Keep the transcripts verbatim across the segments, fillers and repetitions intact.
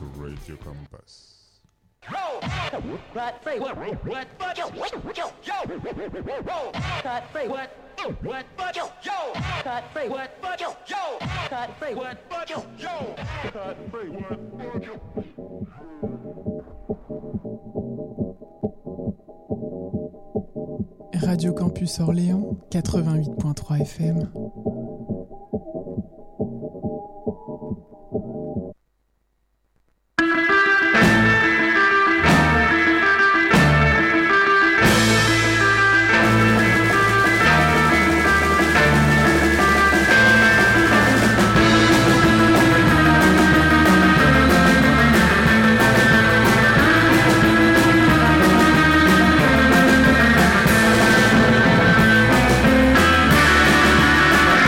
Radio Campus. What? Say what? What? What? Yo, yo, yo. Cut. Say what? What? What? Yo, yo. Cut. Say what? What? Yo, yo. Cut. Say what? What? Yo, yo. Cut. Say what? Radio Campus Orléans, quatre-vingt-huit point trois F M. We'll be right back.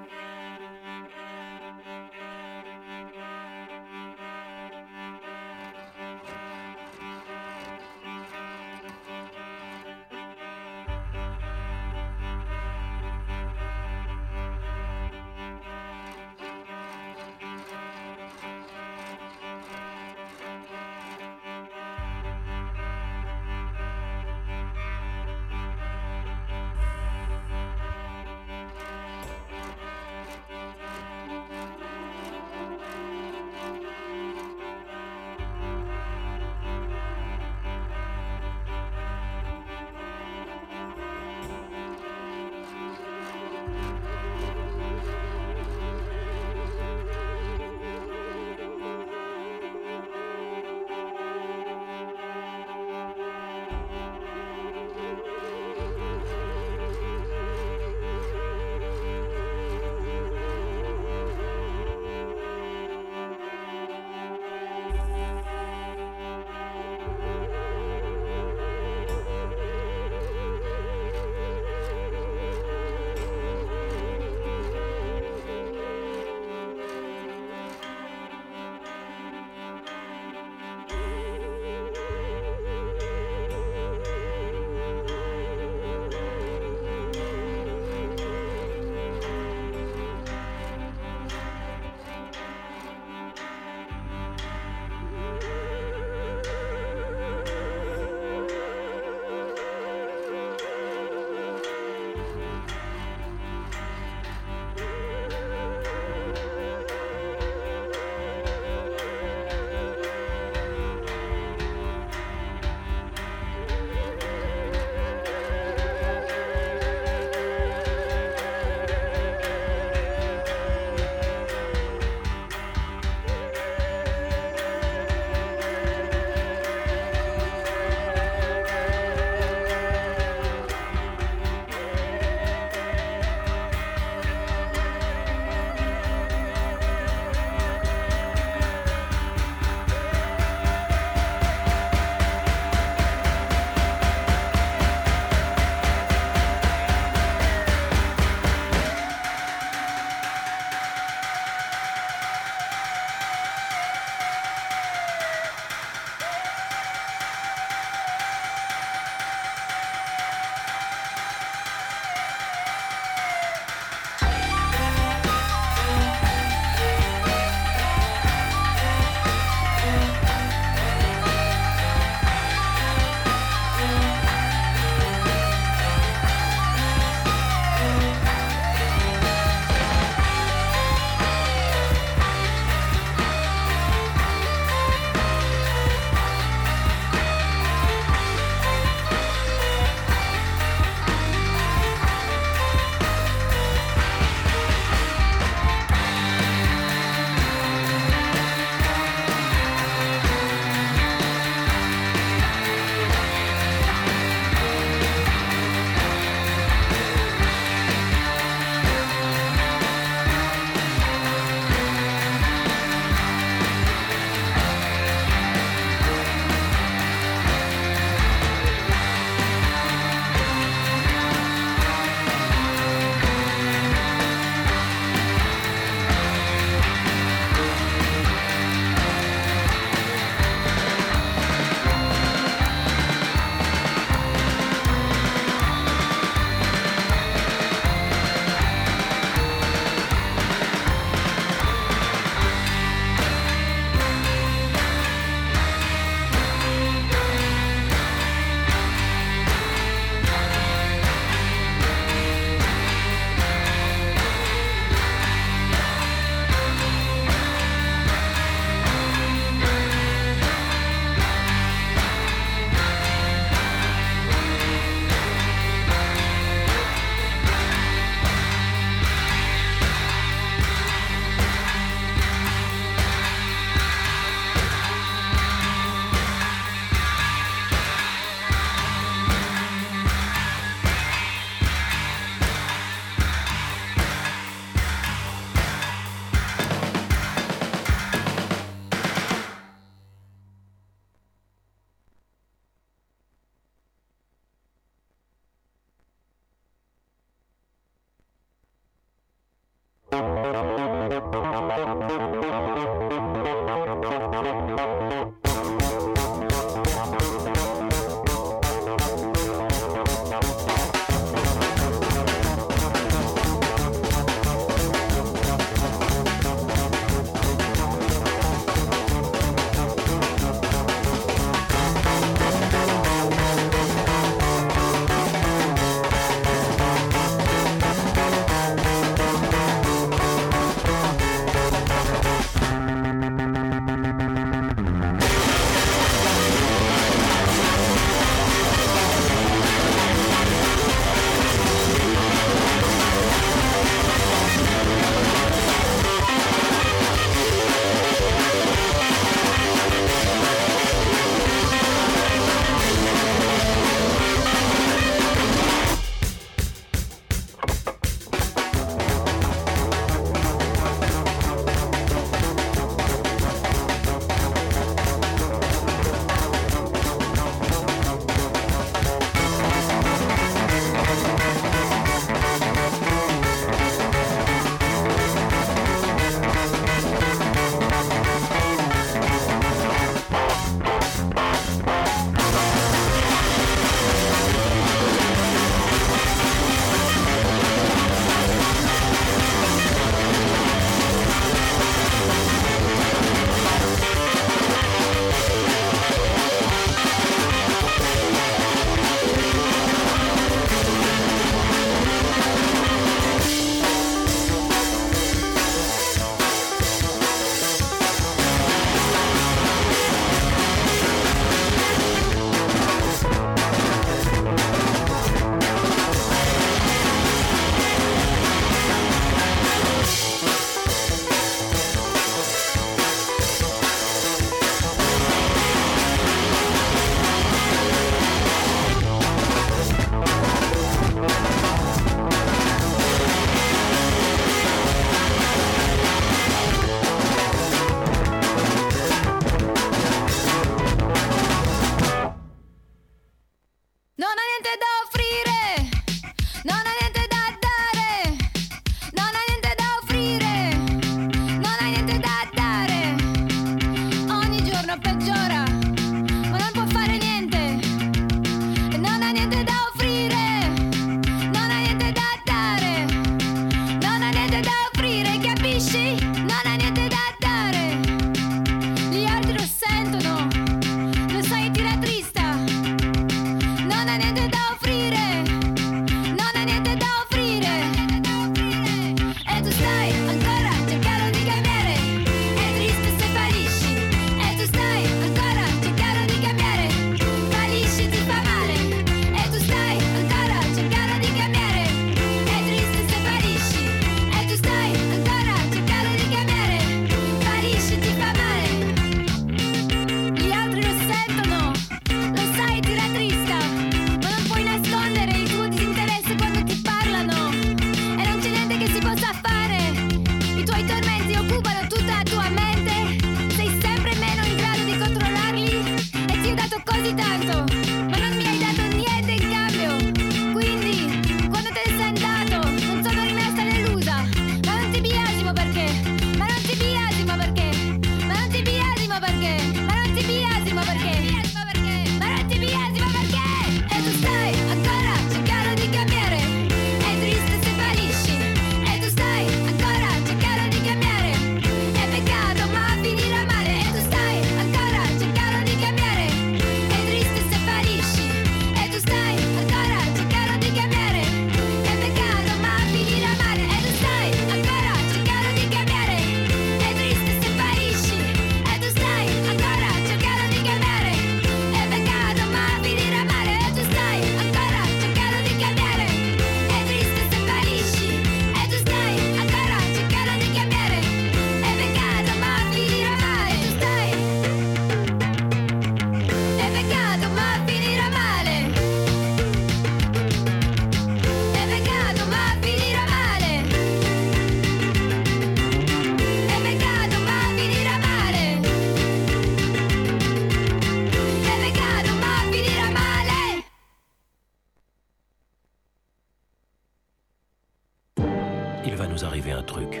il va nous arriver un truc.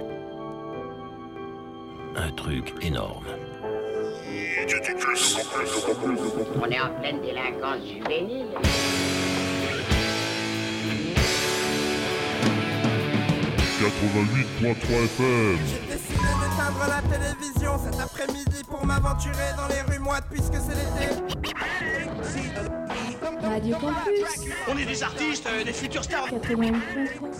Un truc énorme. On est en pleine délinquance juvénile. quatre-vingt-huit point trois F M. J'ai décidé d'éteindre la télévision cet après-midi pour m'aventurer dans les rues moites puisque c'est l'été. Radio Campus. On est des artistes, euh, des futurs stars. quatre-vingt-huit point trois.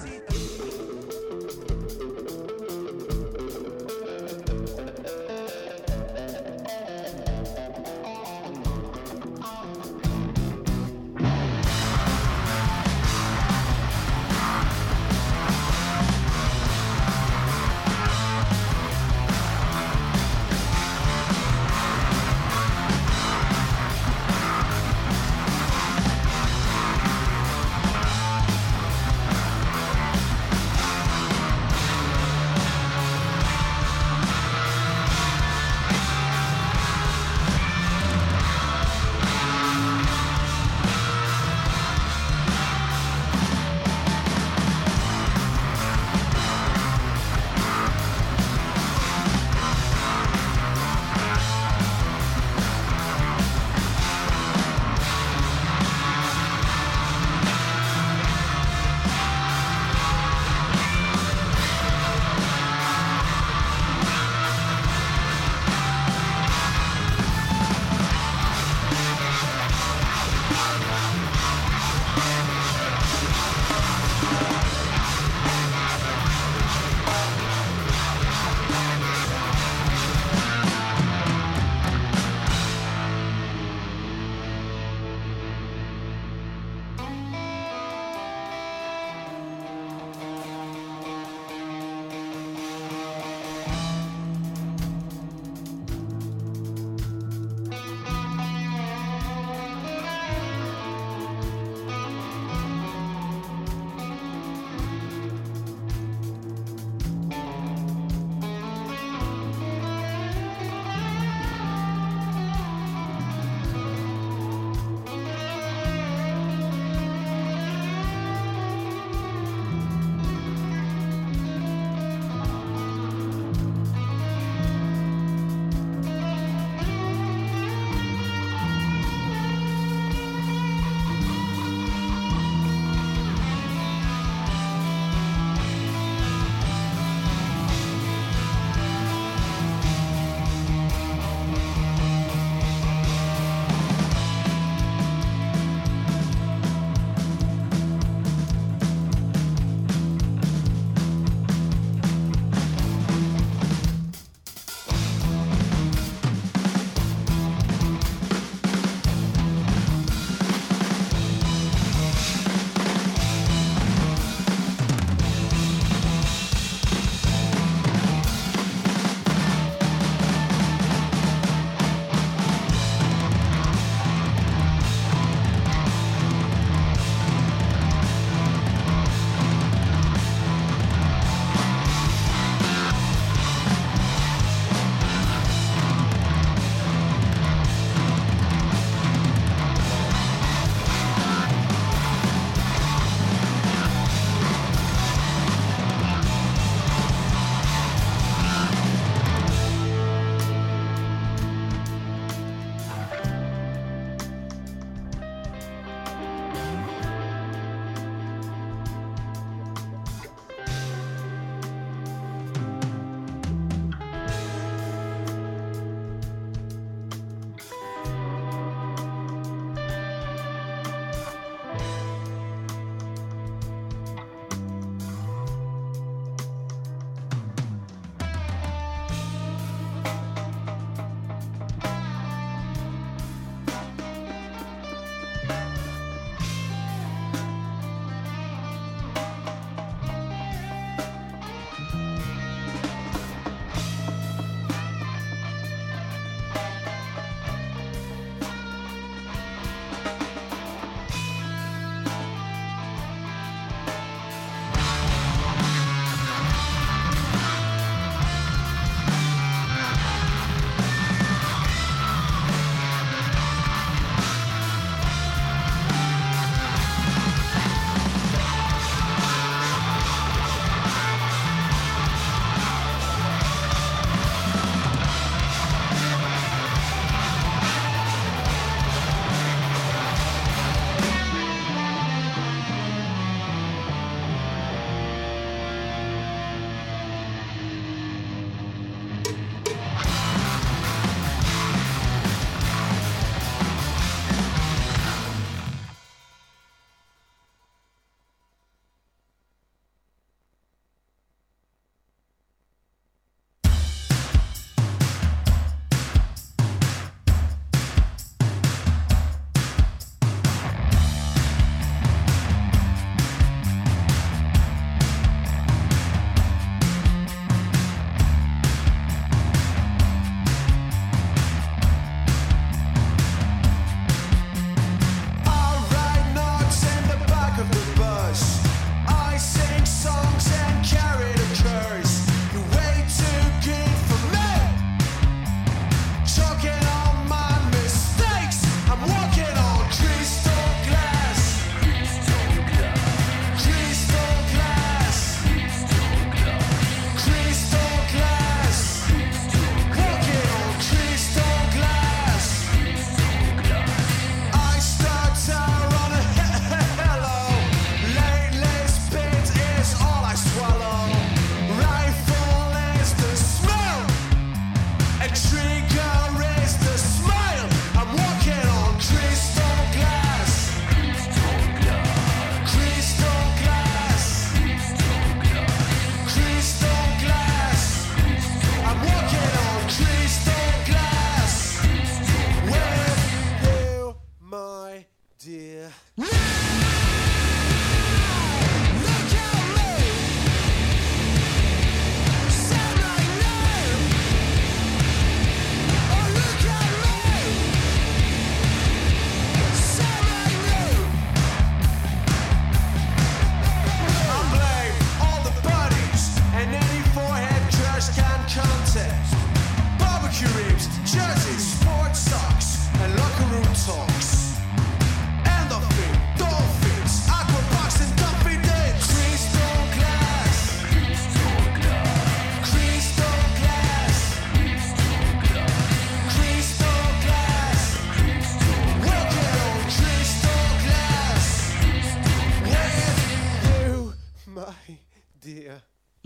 my dear.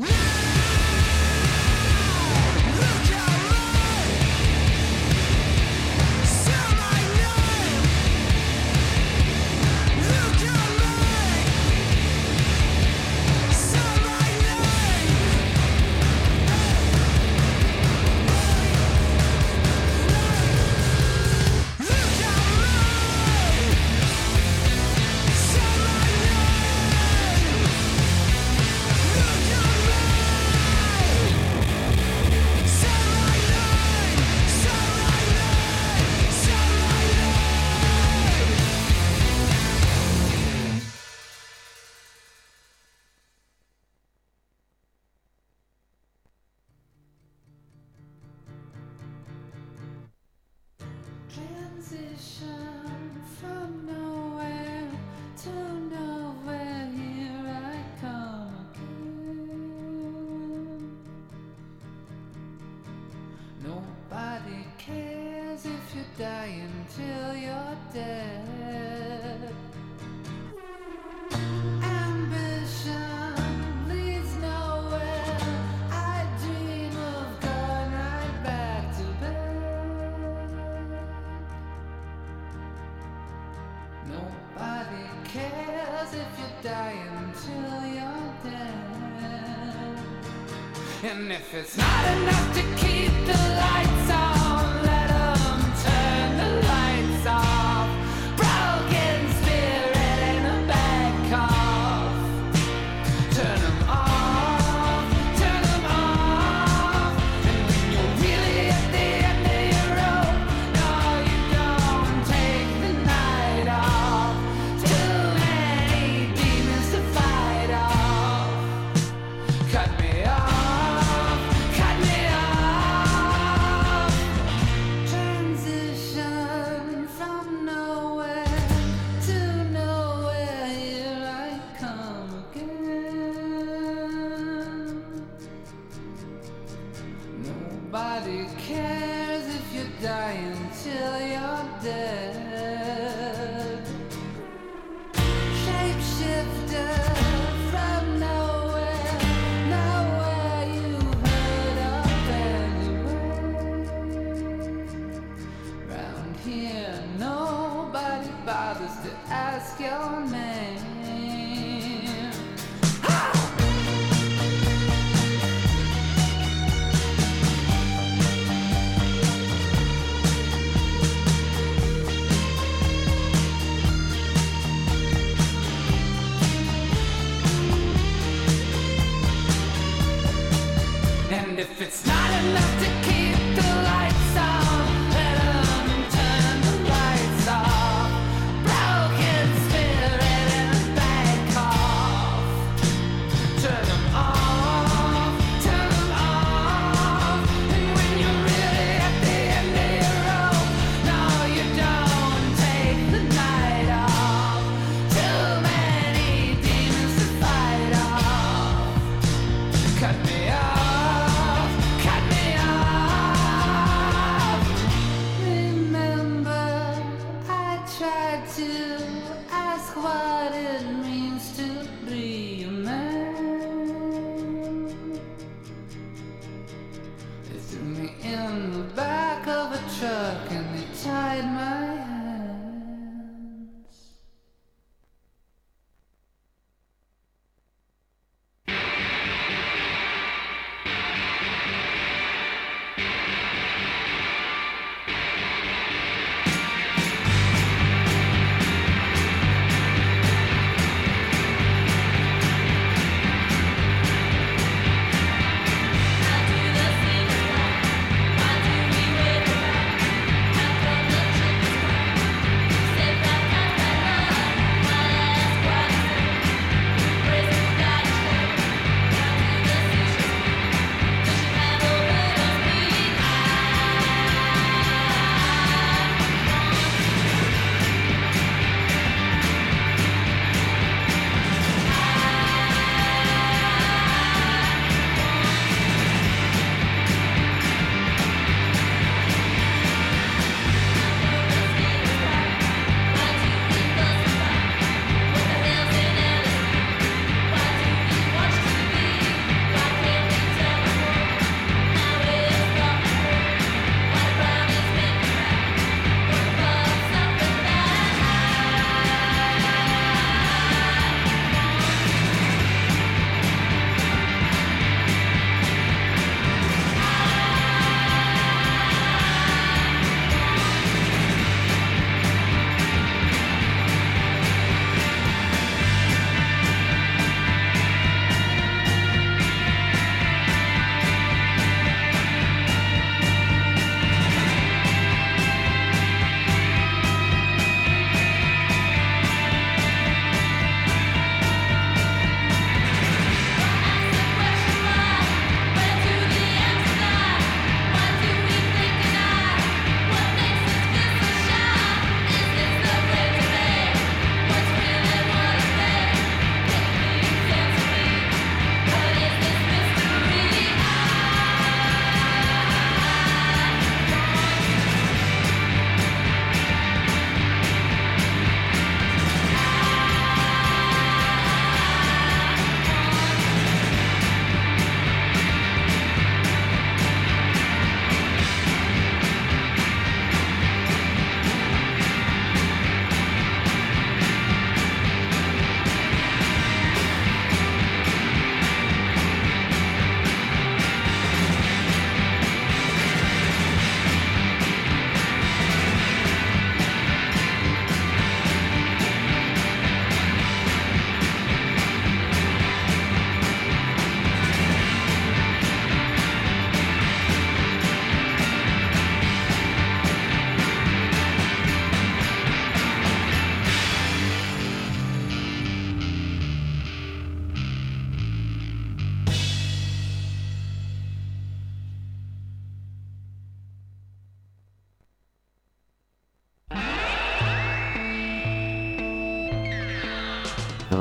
And if it's not enough to keep the lights on, let 'em turn the lights off. Broken spirit in a bad cough. Turn 'em off, turn 'em off. And when you're really at the end of your rope, no, you don't take the night off. Too many demons to fight off. Cut me off. Nobody cares if you're dying till you're dead. Shapeshifter from nowhere, nowhere you heard of anyway. Round here nobody bothers to ask your name. And if it's not enough to keep the lights on, let 'em turn the lights off. Broken spirit in a bad cough. Turn 'em off, turn 'em off. And when you're really at the end of your rope, no, you don't take the night off. Too many demons to fight off. Cut me off. Cut me off.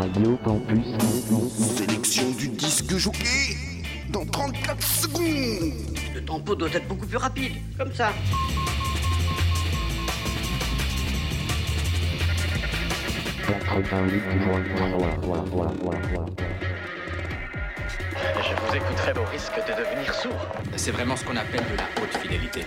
Radio Campus. Sélection du disque jockey dans trente-quatre secondes. Le tempo doit être beaucoup plus rapide, comme ça. quatre-vingt-huit point trois. Je vous écouterai au risque de devenir sourd. C'est vraiment ce qu'on appelle de la haute fidélité.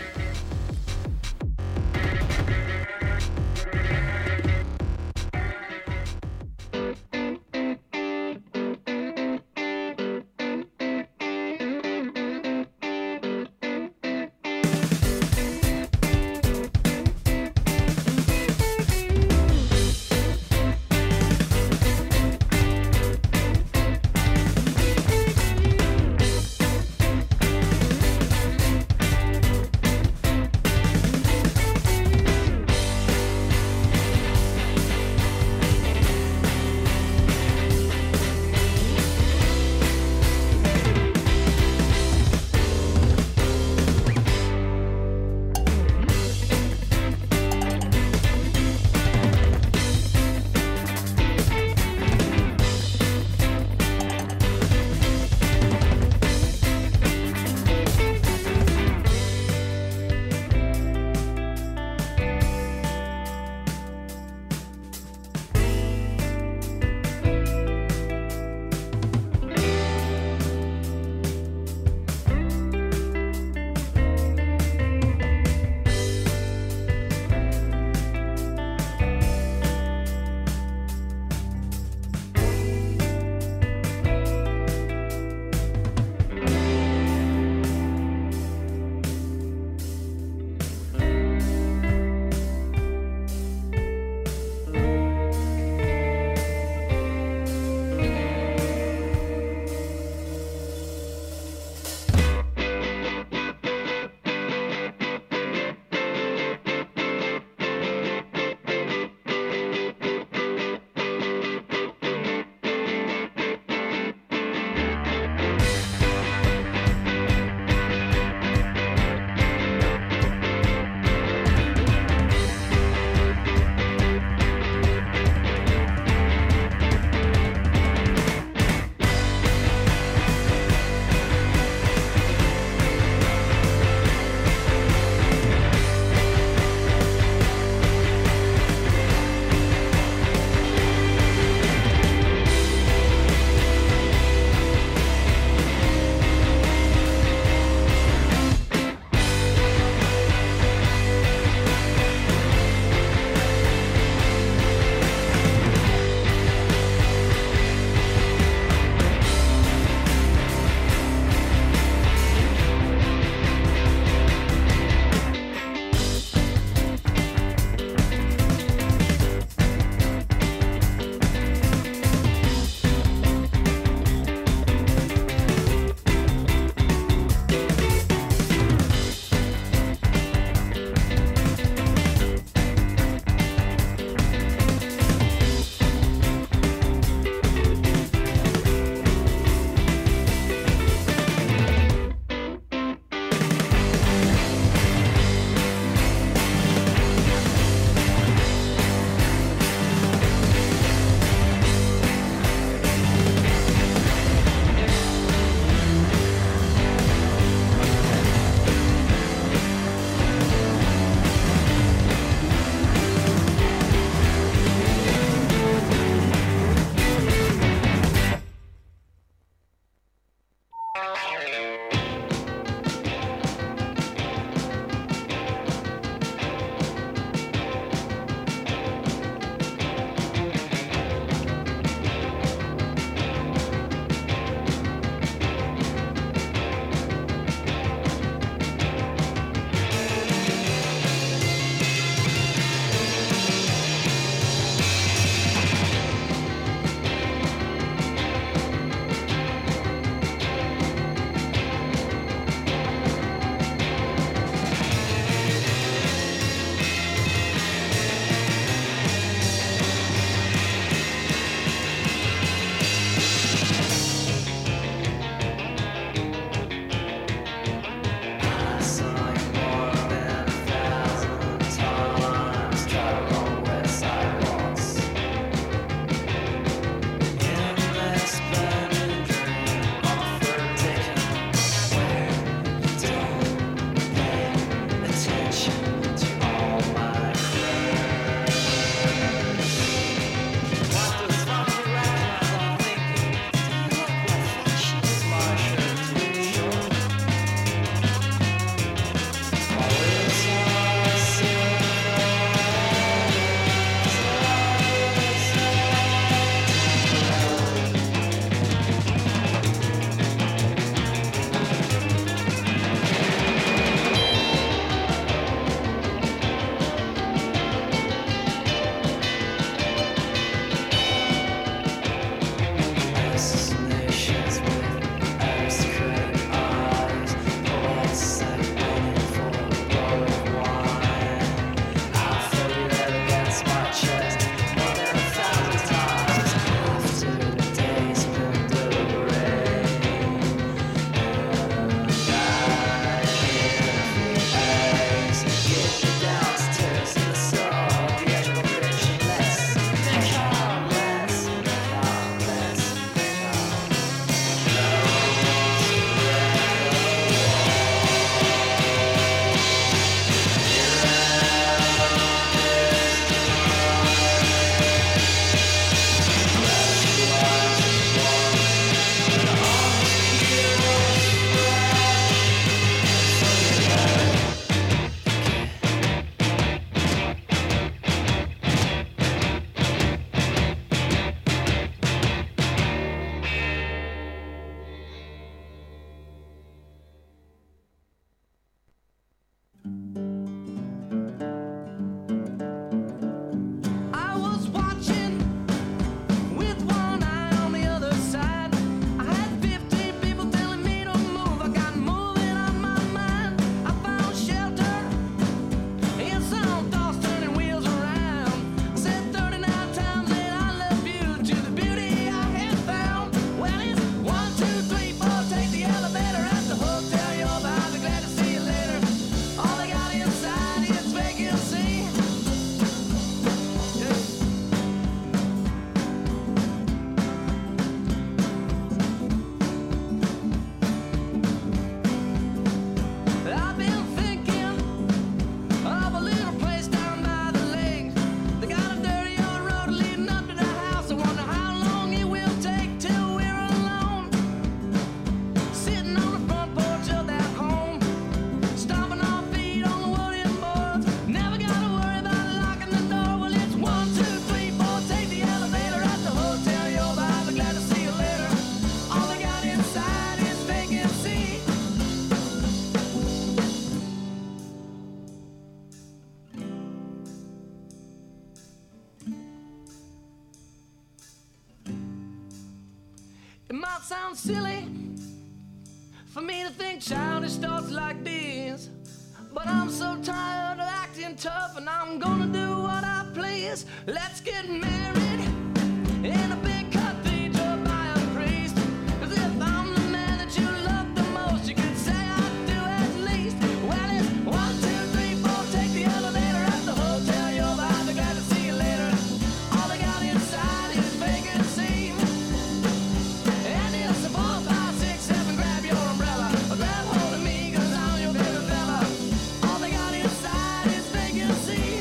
It might sound silly for me to think childish thoughts like these, but I'm so tired of acting tough, and I'm gonna do what I please. Let's get married in a big cathedral by a priest. 'Cause if I'm the man that you love the most, you could say I do at least. Well, it's one, two, three, four, take the elevator at the hotel. You'll be glad to see you later. All they got inside is vacancy. And it's a four, five, six, seven, grab your umbrella. Grab hold of me, 'cause I'm your baby fella. All they got inside is vacancy.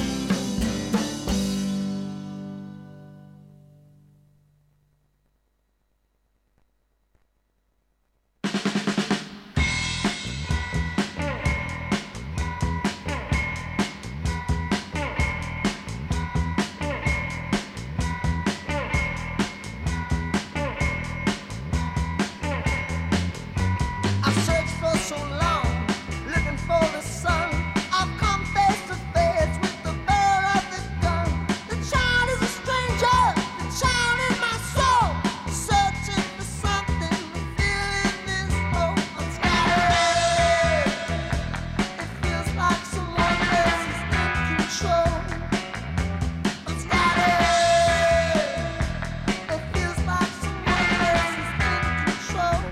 I've searched for so long, looking for the sun. I've come face to face with the barrel of this gun. The child is a stranger, the child is my soul. Searching for something to fill in this hole. I'm scattered. It feels like someone else is in control. I'm scattered. It feels like someone else is in control.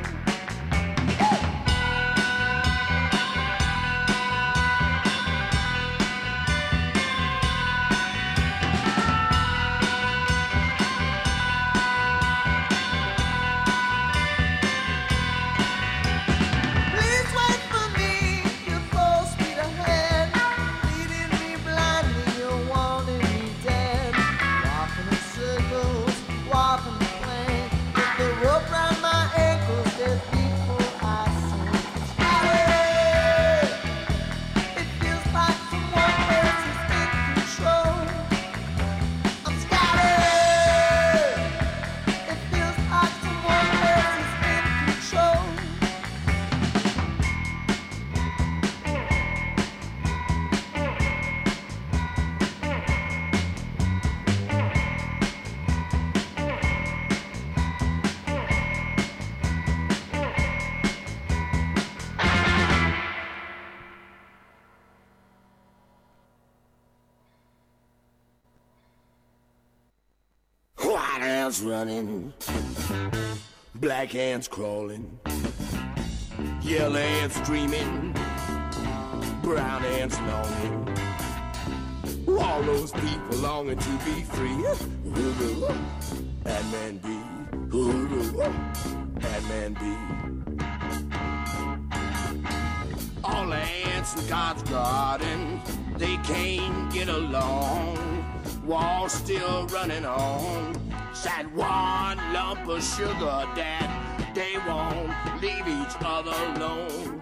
Please wait for me, you're full speed ahead. Leading me blindly, you're wanting me dead. Walking in circles, walking the plane. With the rope round my ankles, there's people I see. Scattered. It feels like someone else is in control. I'm scattered. It feels like someone else is in control. White ants running, black ants crawling, yellow ants dreaming, brown ants longing. All those people longing to be free. Hoodoo, and man be. Hoodoo, and man be. All the ants in God's garden, they can't get along. Wall still running on. That one lump of sugar that they won't leave each other alone.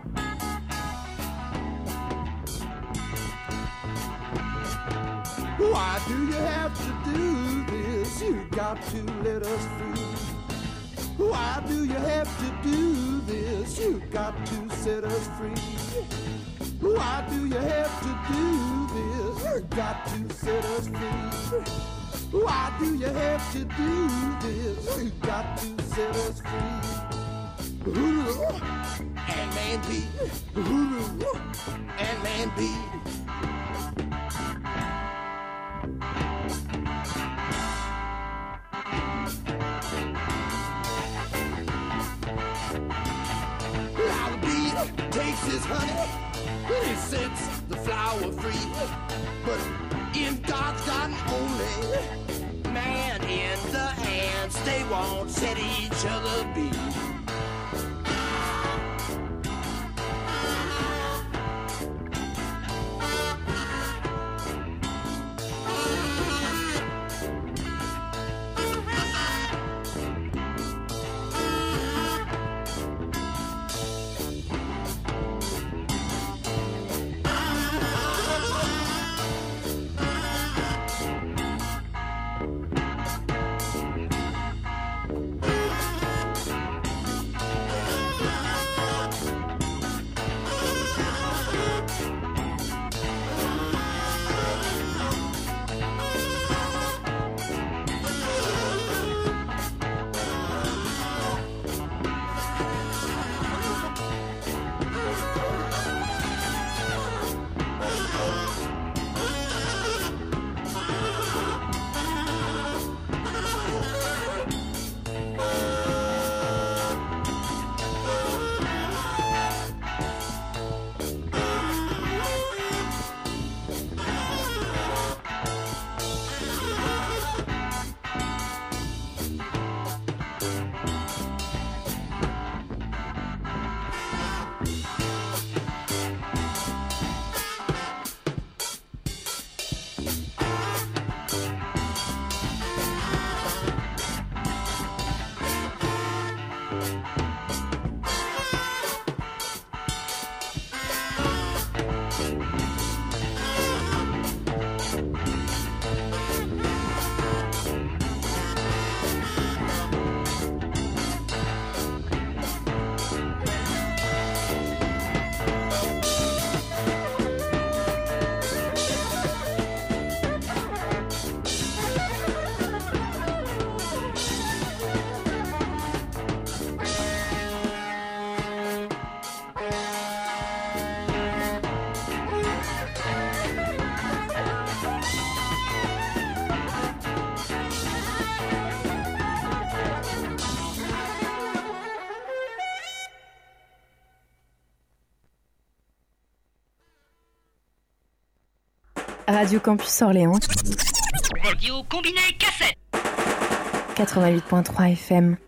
Why do you have to do this? You got to let us free. Why do you have to do this? You got to set us free. Why do you have to do this? You got to set us free. Why do you have to do this? You got to set us free. Hoodoo, and man be. Hoodoo, and man be. Now the bee takes his honey and he sets the flower free. But in God's garden only, man and the ants, they won't set each other be. Radio Campus Orléans. Radio combiné cassette. quatre-vingt-huit point trois F M.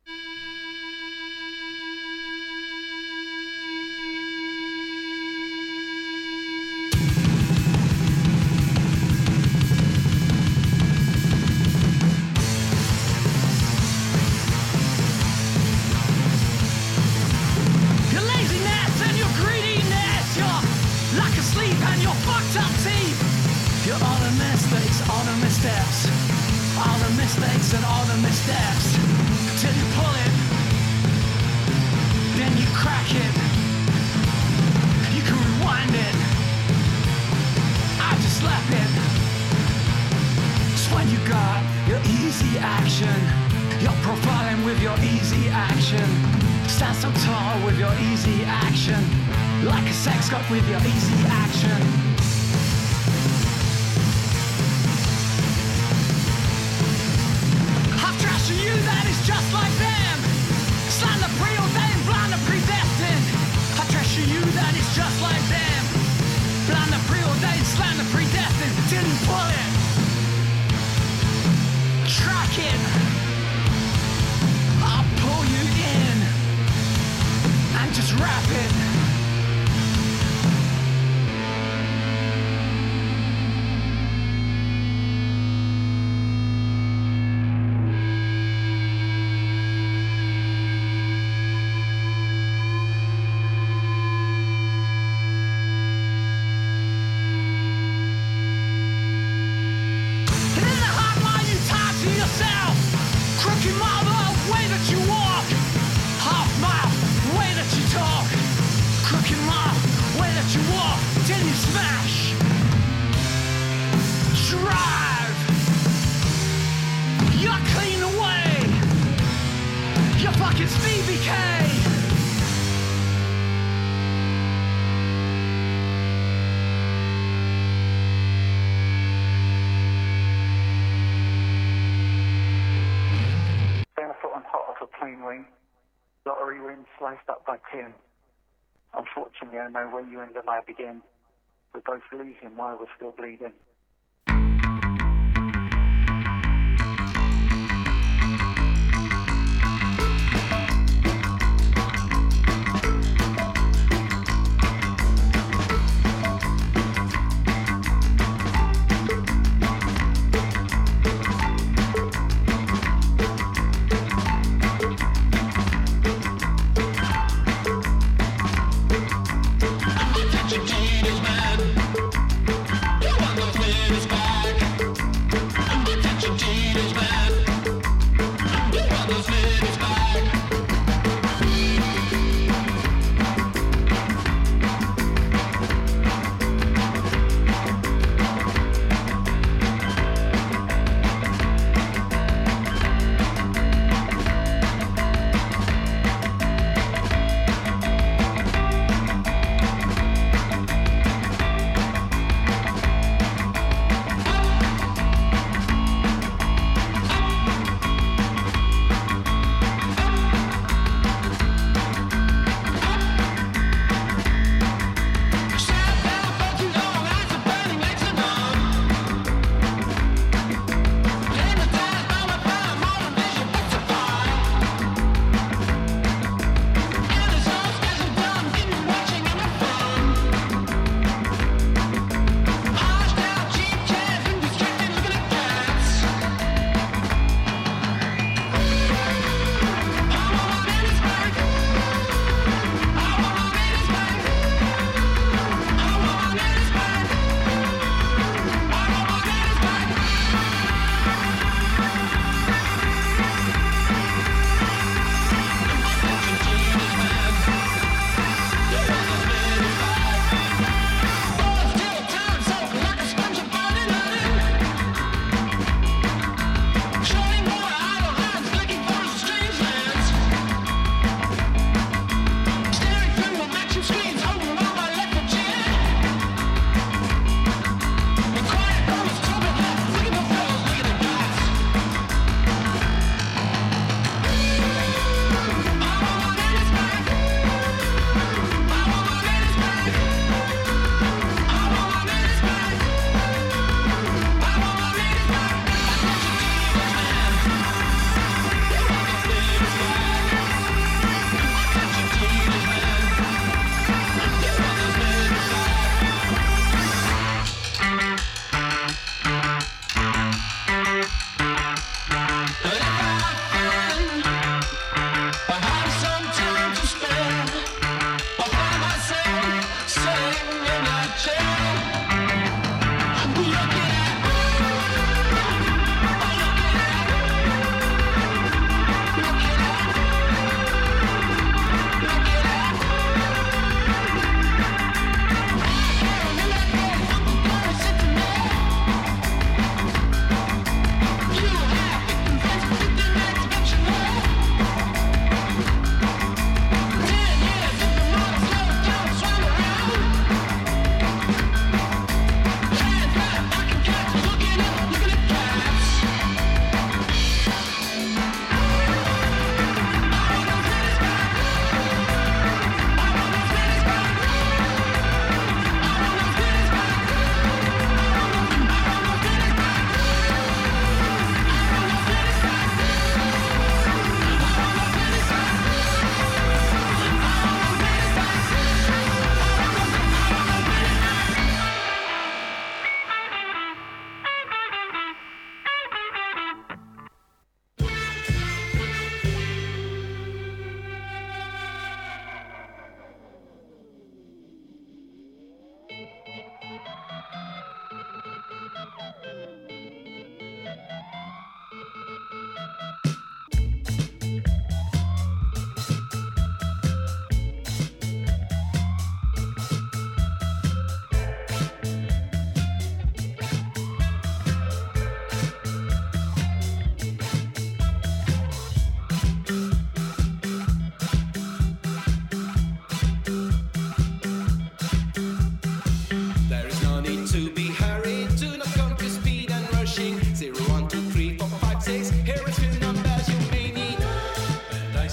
Sliced up by Tim. Unfortunately, I know where you end and I begin. We're both losing while we're still bleeding.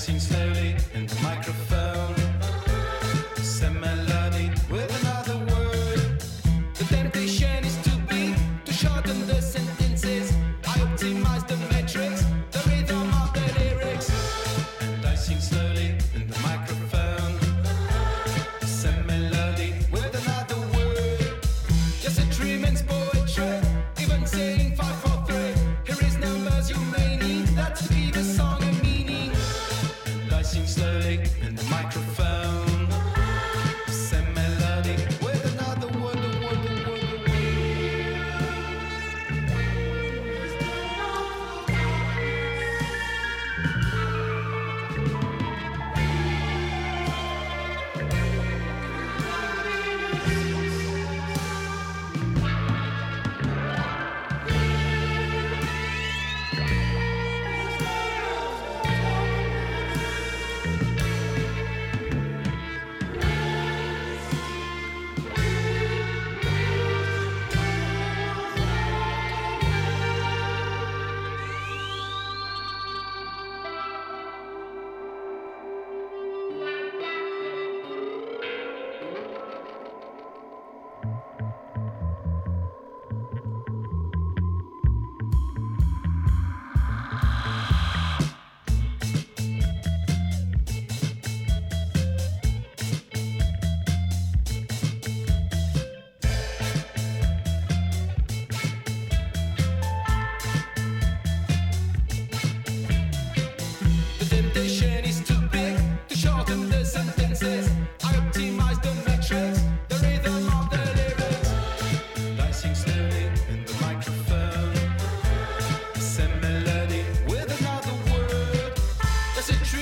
Dicing slowly in the microphone. Same melody with another word. The temptation is too big to shorten the sentences. I optimize the metrics, the rhythm of the lyrics. And I sing slowly in the microphone. Same melody with another word. Yes, it remains poetry, even saying five, four, three. Here is numbers you may need, that's to give a song a meaning. And I sing slowly in the microphone. Same melody with another word, a word, a word, a word. The temptation is too big to shorten the sentences. I optimize the metrics, the rhythm of the lyrics. And I sing slowly in the microphone. Same melody with another word. Does it